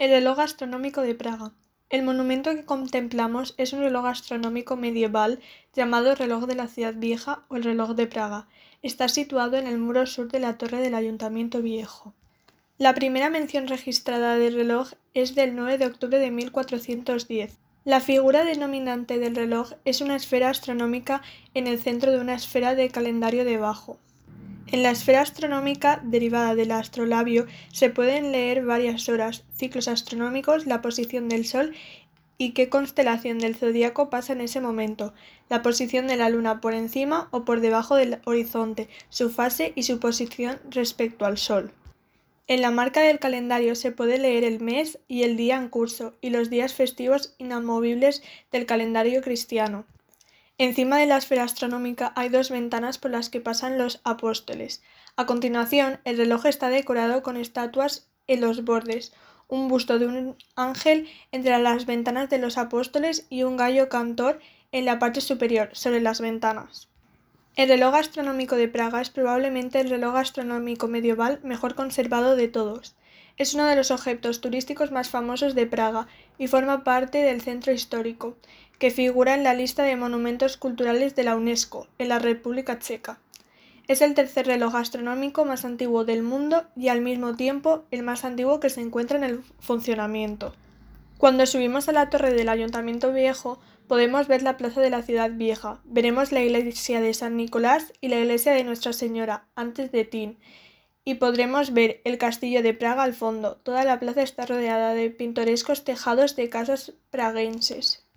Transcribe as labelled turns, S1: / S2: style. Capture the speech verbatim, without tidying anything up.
S1: El reloj astronómico de Praga. El monumento que contemplamos es un reloj astronómico medieval llamado reloj de la ciudad vieja o el reloj de Praga. Está situado en el muro sur de la torre del Ayuntamiento Viejo. La primera mención registrada del reloj es del nueve de octubre de mil cuatrocientos diez. La figura denominante del reloj es una esfera astronómica en el centro de una esfera de calendario debajo. En la esfera astronómica, derivada del astrolabio, se pueden leer varias horas, ciclos astronómicos, la posición del Sol y qué constelación del zodíaco pasa en ese momento, la posición de la Luna por encima o por debajo del horizonte, su fase y su posición respecto al Sol. En la marca del calendario se puede leer el mes y el día en curso y los días festivos inamovibles del calendario cristiano. Encima de la esfera astronómica hay dos ventanas por las que pasan los apóstoles. A continuación, el reloj está decorado con estatuas en los bordes, un busto de un ángel entre las ventanas de los apóstoles y un gallo cantor en la parte superior, sobre las ventanas. El reloj astronómico de Praga es probablemente el reloj astronómico medieval mejor conservado de todos. Es uno de los objetos turísticos más famosos de Praga y forma parte del centro histórico, que figura en la lista de monumentos culturales de la UNESCO, en la República Checa. Es el tercer reloj astronómico más antiguo del mundo y al mismo tiempo el más antiguo que se encuentra en el funcionamiento. Cuando subimos a la torre del Ayuntamiento Viejo, podemos ver la plaza de la ciudad vieja, veremos la iglesia de San Nicolás y la iglesia de Nuestra Señora, antes de Tin, y podremos ver el castillo de Praga al fondo. Toda la plaza está rodeada de pintorescos tejados de casas praguenses.